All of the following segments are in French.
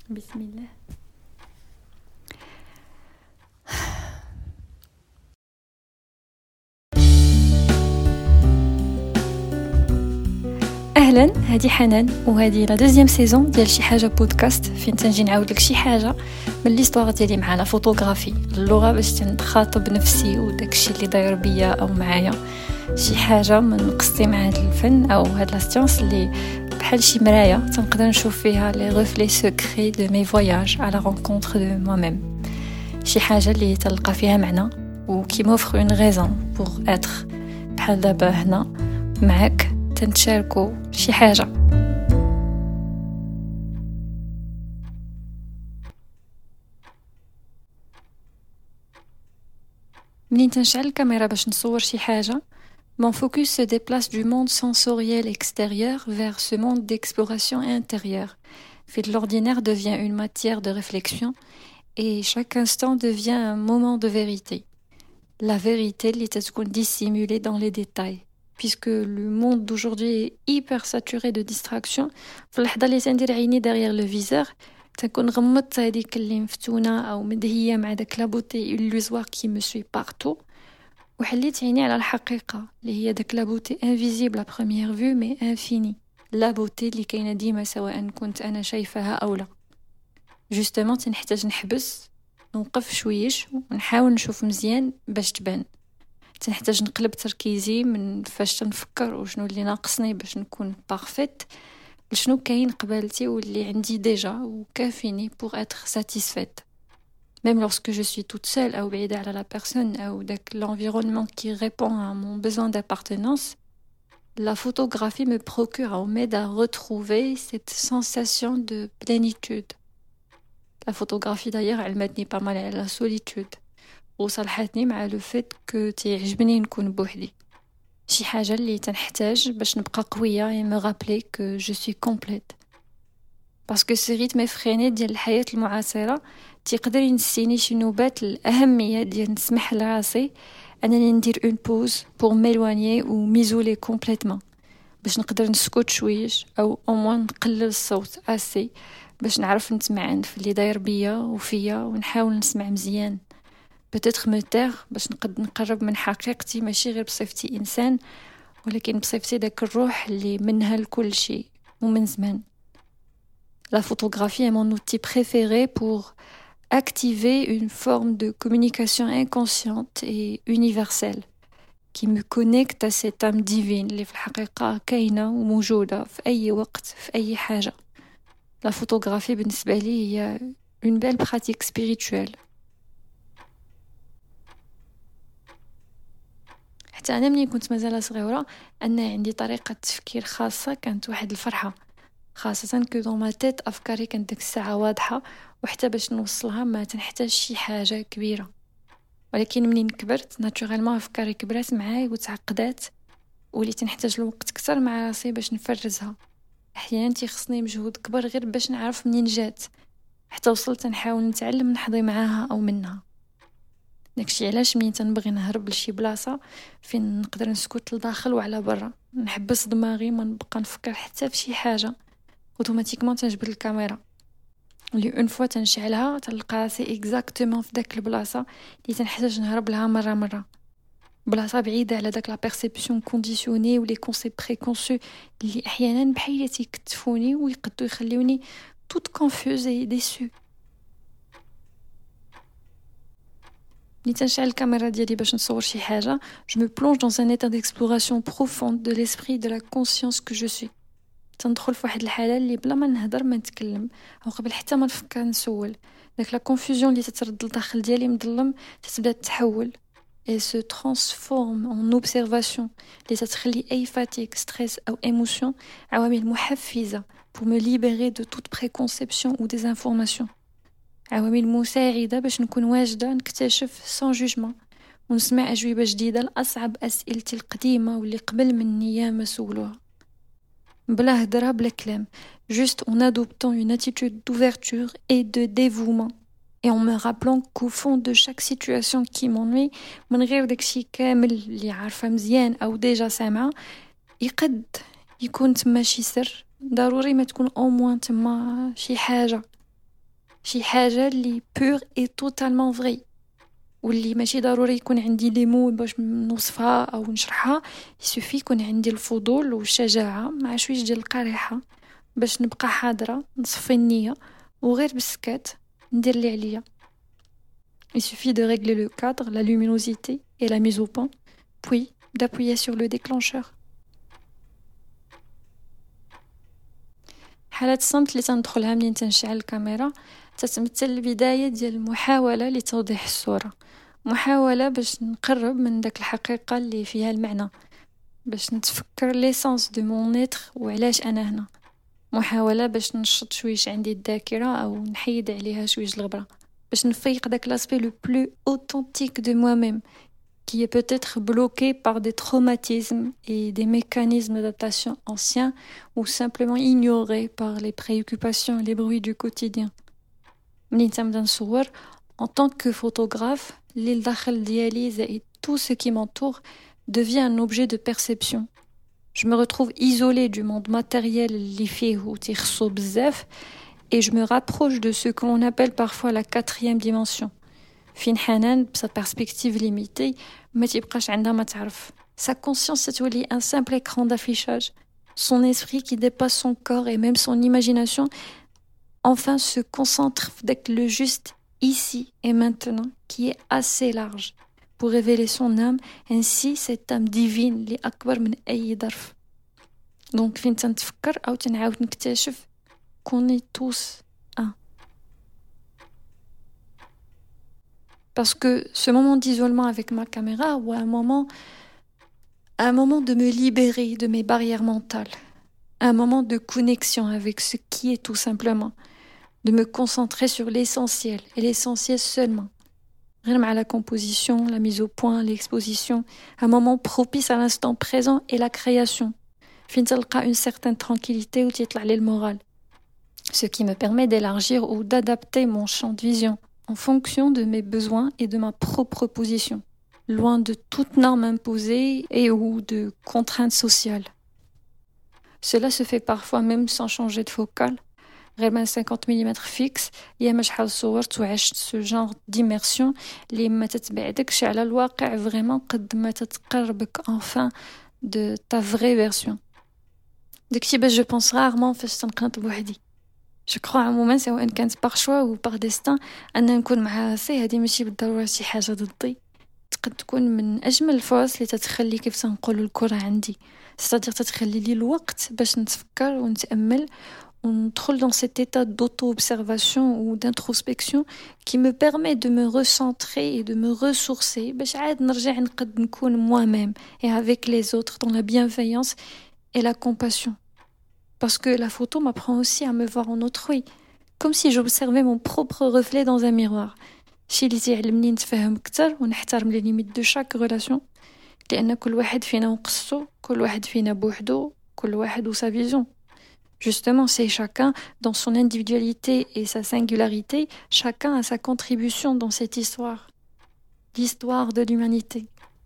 بسم الله. اهلا، هذه حنان وهذه لا دوزيام سيزون ديال شي حاجه بودكاست فين تنجي نعاود لك شي حاجه من ليستوار ديالي مع لا فوتوغرافي اللغه باش تنخاطب نفسي وداك الشيء اللي داير بيا او معايا، شي حاجه من قصتي مع هذا الفن او هاد لا سيونس اللي بحال شي مرايه تنقدر نشوف فيها لي ريفلي سكري دو مي فواياج على رونكونتر دو moi même، شي حاجه اللي تلقى فيها معنى وكي موفر اون ريزون بور اتر بحال دابا هنا معاك تنتشاركو شي حاجه. منين تنشعل الكاميرا باش نصور شي حاجه، mon focus se déplace du monde sensoriel extérieur vers ce monde d'exploration intérieure. Fait l'ordinaire devient une matière de réflexion et chaque instant devient un moment de vérité. La vérité اللي تتكون dissimulée dans les détails. Puisque le monde d'aujourd'hui est hyper saturé de distractions, في اللحظة اللي تندير عيني derrière le viseur تنكون غمضت هذيك اللي مفتونة أو مدهية مع داك لابوتي illusoire qui me suit partout وحليت عيني على الحقيقة اللي هي داك لابوتي invisible à première vue mais infinie، لابوتي اللي كاينة ديما سواء كنت أنا شايفها أو لا. justement تنحتاج نحبس نوقف شويش ونحاول نشوف مزيان باش تبان، تنحتاج نقلب تركيزي من فاش تنفكر وشنو اللي ناقصني باش نكون بارفيت لشنو كاين قبالتي واللي عندي ديجا وكافيني pour être satisfaite. Même lorsque je suis toute seule ou بعيدة على la personne ou l'environnement qui répond à mon besoin d'appartenance, la photographie me procure ou m'aide à retrouver cette sensation de plénitude. La photographie d'ailleurs elle m'aide pas mal à la solitude. وصلحتني مع لو فيت كو تيعجبني نكون بوحدي، شي حاجه اللي تنحتاج باش نبقى قويه et me rappeler que je suis complète. parce que ce rythme effréné ديال الحياه المعاصره تيقدر ينسيني شي نوبات الاهميه ديال نسمح لراسي انني ندير اون بوز pour m'éloigner ou m'isoler complètement باش نقدر نسكت شويش او au moins نقلل الصوت اسي باش نعرف نتمعن في اللي داير بيا وفيا ونحاول نسمع مزيان. peut-être me taire باش نقرب من حقيقتي ماشي غير بصفتي إنسان ولكن بصفتي داك الروح اللي منها الكل شيء ومن زمان. La photographie est mon outil préféré pour activer une forme de communication inconsciente et universelle qui me connecte à cette âme divine اللي في الحقيقة كاينة وموجودة في أي وقت في أي حاجة. La photographie بالنسبة لي هي une belle pratique spirituelle. حتى أنا مني كنت مازال صغيرة أنا عندي طريقة تفكير خاصة كانت واحد الفرحة، خاصة كو دون ما تيت أفكاري كانت ديك الساعة واضحة وحتى باش نوصلها ما تنحتاج شي حاجة كبيرة. ولكن منين كبرت ناتورالمون أفكاري كبرات معاي وتعقدات ولي تنحتاج الوقت كتر مع راسي باش نفرزها. أحيانا تيخصني مجهود كبر غير باش نعرف منين جات، حتى وصلت نحاول نتعلم نحظي معاها أو منها. داكشي علاش منين تنبغي نهرب لشي بلاصه فين نقدر نسكت لداخل وعلى برا نحبس دماغي ما نبقى نفكر حتى في شي حاجه اوتوماتيكمون تنجبد الكاميرا اللي اون فوا تنشعلها تلقى راسي اكزاكتومون في داك البلاصه اللي تنحتاج نهرب لها مره بلاصه بعيده على داك لا بيرسيبسيون كونديسيوني ولي كونسيبت بريكونسو اللي احيانا بحال تيكتفوني ويقدروا يخليوني توت كونفوز اي ديسو. ملي تنشعل الكاميرا ديالي باش نصور شي حاجه je me plonge dans un état d'exploration profonde de l'esprit de la conscience que je suis. تندخل في واحد الحاله اللي بلا ما نهضر ما نتكلم او قبل حتى ما نفكر نسول داك لا كونفوزيون اللي تترد لداخل ديالي مظلم تتبدا تتحول et se transforme en observation اللي تتخلي اي فاتيك ستريس او ايموشن عوامل محفزه pour me libérer de toute préconception ou des informations، عوامل مساعدة باش نكون واجدة نكتشف سان جوجمون ونسمع أجوبة جديدة لأصعب أسئلتي القديمة واللي قبل مني ياما سولوها بلا هدرة بلا كلام، juste en adoptant une attitude d'ouverture et de dévouement et en me rappelant qu'au fond de chaque situation qui m'ennuie من غير داكشي كامل اللي عارفة مزيان أو ديجا سامعة يقد يكون تما شي سر ضروري ما تكون au moins تما شي حاجة شي حاجة اللي pure et totalement vraie واللي ماشي ضروري يكون عندي لي مو باش نوصفها أو نشرحها. يسوفي يكون عندي الفضول والشجاعة مع شويش ديال القريحة باش نبقى حاضرة نصفي النية وغير بالسكات ندير اللي عليا. Il suffit de régler le cadre, la luminosité et la mise au point, puis d'appuyer sur le déclencheur. حالة الصمت اللي تندخلها منين تنشعل الكاميرا تتمثل البداية ديال المحاولة لتوضيح الصورة، محاولة باش نقرب من داك الحقيقة اللي فيها المعنى، باش نتفكر ليسانس دو مون ايتر وعلاش أنا هنا، محاولة باش نشط شويش عندي الذاكرة أو نحيد عليها شويش الغبرة، باش نفيق داك l'aspect le plus authentique de moi-même qui est peut-être bloqué par des traumatismes et des mécanismes d'adaptation anciens ou simplement ignorés par les préoccupations et les bruits du quotidien. منين تنبدا نصور en tant que photographe اللي الداخل ديالي زائد tout ce qui m'entoure devient un objet de perception. Je me retrouve isolée du monde matériel اللي فيه وتيخصو بزاف et je me rapproche de ce que l'on appelle parfois la quatrième dimension. فين حنان بsa perspective limitée ما تيبقاش عندها ما تعرف. Sa conscience تولي un simple écran d'affichage. Son esprit qui dépasse son corps et même son imagination enfin se concentre avec le juste ici et maintenant qui est assez large pour révéler son âme, ainsi cette âme divine اللي أكبر من أي ظرف. Donc فين تنتفكر أو تنعاود نكتشف qu'on est tous un. Parce que ce moment d'isolement avec ma caméra ou un moment de me libérer de mes barrières mentales, un moment de connexion avec ce qui est tout simplement, de me concentrer sur l'essentiel et l'essentiel seulement. غير مع la composition, la mise au point, l'exposition, un moment propice à l'instant présent et la création. فين تلقى une certaine tranquillité ou تيطلع لي المورال. Ce qui me permet d'élargir ou d'adapter mon champ de vision en fonction de mes besoins et de ma propre position, loin de toute norme imposée et ou de contraintes sociales. Cela se fait parfois même sans changer de focale. غير من 50 mm fixe ياما شحال صورت وعشت ce genre d'immersion اللي ما تتبعدكش على الواقع vraiment قد ما تتقربك enfin de ta vraie version. داكشي باش je pense rarement فاش تنقنط بوحدي. Je crois عموما سواء كانت par choix ou par destin أن نكون مع راسي هذه ماشي بالضرورة شي حاجة ضدي، تقد تكون من أجمل الفرص اللي تتخلي كيف تنقول الكرة عندي، c'est-à-dire تتخلي لي الوقت باش نتفكر ونتأمل وندخل dans cet état d'auto-observation ou d'introspection qui me permet de me recentrer et de me ressourcer باش عاد نرجع نقد نكون moi-même et avec les autres dans la bienveillance et la compassion. Parce que la photo m'apprend aussi à me voir en autrui, comme si j'observais mon propre reflet dans un miroir. شي اللي تيعلمني نتفهم أكثر ونحترم les limites de chaque relation، لأن كل واحد فينا وقصو، كل واحد فينا بوحدو، كل واحد وsa vision. Justement, c'est chacun dans son individualité et sa singularité, chacun a sa contribution dans cette histoire, l'histoire de l'humanité.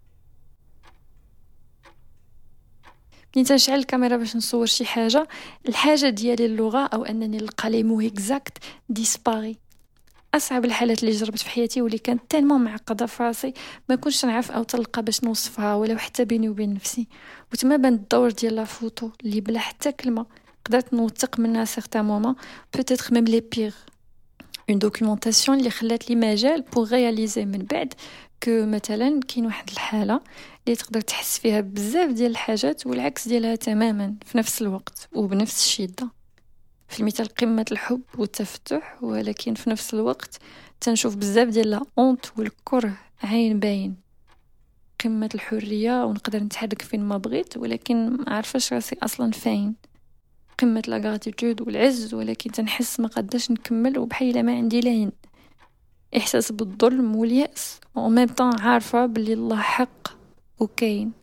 منين تنشعل الكاميرا باش نصور شي حاجة، الحاجة ديالي اللغة أو أنني نلقى لي مو إكزاكت ديسباري. أصعب الحالات اللي جربت في حياتي واللي كانت تالمون معقدة في راسي ما كنتش نعرف أو تلقى باش نوصفها ولو حتى بيني وبين نفسي، وتما بان الدور ديال لا فوتو اللي بلا حتى كلمة قدرت نوثق منها certains moments, peut-être même les pires. Une documentation اللي خلات لي مجال pour réaliser من بعد que مثلا كاين واحد الحالة اللي تقدر تحس فيها بزاف ديال الحاجات والعكس ديالها تماما في نفس الوقت وبنفس الشدة. في المثال قمة الحب والتفتح، ولكن في نفس الوقت تنشوف بزاف ديال لا honte والكره عين باين. قمة الحرية ونقدر نتحرك فين ما بغيت ولكن ما عارفاش راسي أصلا فين. قمة لا غراتيتود والعز ولكن تنحس ما قداش نكمل وبحيلة ما عندي لين. إحساس بالظلم واليأس وميم طون عارفة بلي الله حق وكاين.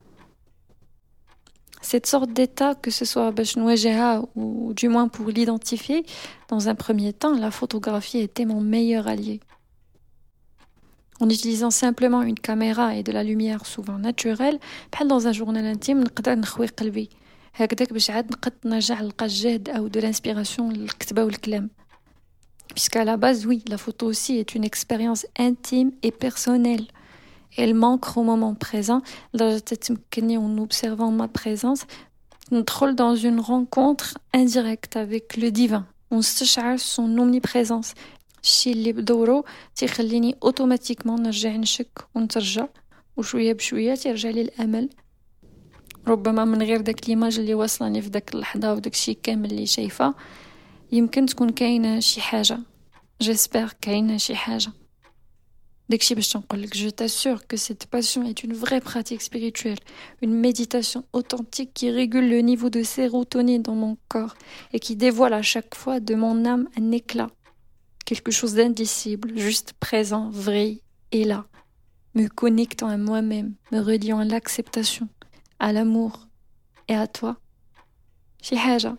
Cette sorte d'état, que ce soit باش نواجهها ou du moins pour l'identifier, dans un premier temps, la photographie était mon meilleur allié. En utilisant simplement une caméra et de la lumière souvent naturelle, بحال dans un journal intime نقدر نخوي قلبي. هكذاك باش عاد نقد نرجع نلقى الجهد أو de l'inspiration للكتابة والكلام. Puisqu'à la base, oui, la photo aussi est une expérience intime et personnelle. Elle m'ancre au moment présent. Là, en observant ma présence, on troll dans une rencontre indirecte avec le divin. On s'achète son omniprésence. الشيء اللي بدورو تيخليني اوتوماتيكمون نرجع نشك ونترجع وشويه بشويه تيرجع لي الامل ربما من غير داك ليماج اللي وصلني في داك اللحظه وداك الشيء كامل اللي شايفه يمكن تكون كاينه شي حاجه j'espère كاينه شي حاجه داكشي باش تنقول لك je t'assure que cette passion est une vraie pratique spirituelle une méditation authentique qui régule le niveau de sérotonine dans mon corps et qui dévoile à chaque fois de mon âme un éclat quelque chose d'indicible, juste présent, vrai et là, me connectant à moi-même, me reliant à l'acceptation, à l'amour et à toi. شي حاجة.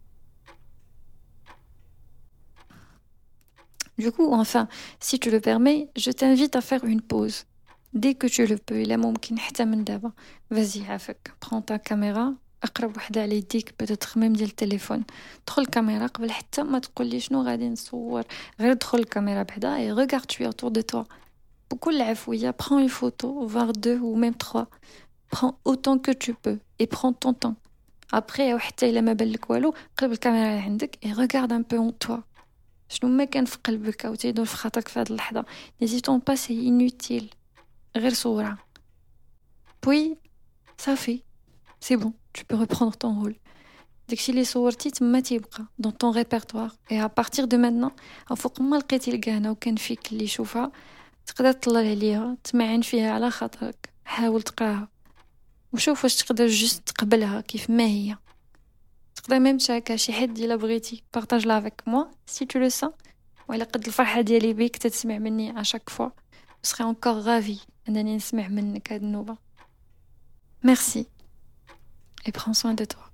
Du coup, enfin, si tu le permets, je t'invite à faire une pause. Dès que tu le peux, إلا ممكن حتى من دابا. Vas-y, عافاك. Prends ta caméra. اقرب وحده على يديك بتاتر ميم ديال التليفون دخل الكاميرا قبل حتى ما تقول لي شنو غادي نصور غير دخل الكاميرا بعدا et regarde tu es autour de toi بكل عفويه prends une photo voire 2 ou même 3 prends autant que tu peux et prends ton temps après وحتى الا ما بالك والو قلب الكاميرا اللي عندك et regarde un peu en toi شنو ما كان في قلبك او تيدور في خاطرك في هذه اللحظه n'hésitons pas c'est inutile غير صورها puis ça fait c'est bon tu peux reprendre ton rôle. داكشي اللي صورتي تما تيبقى dans ton répertoire et à partir de maintenant فوق ما لقيتي الكهنه وكان فيك اللي يشوفها تقدر تطلع عليها تمعن فيها على خاطرك حاول تقراها وشوف واش تقدر جست تقبلها كيف ما هي تقدر ميم تشاركها شي حد الا بغيتي partage la avec moi si tu le sens وإلا قد الفرحه ديالي بيك تسمع مني à chaque fois je serai encore ravie انني نسمع منك هاد النوبه merci et prends soin de toi.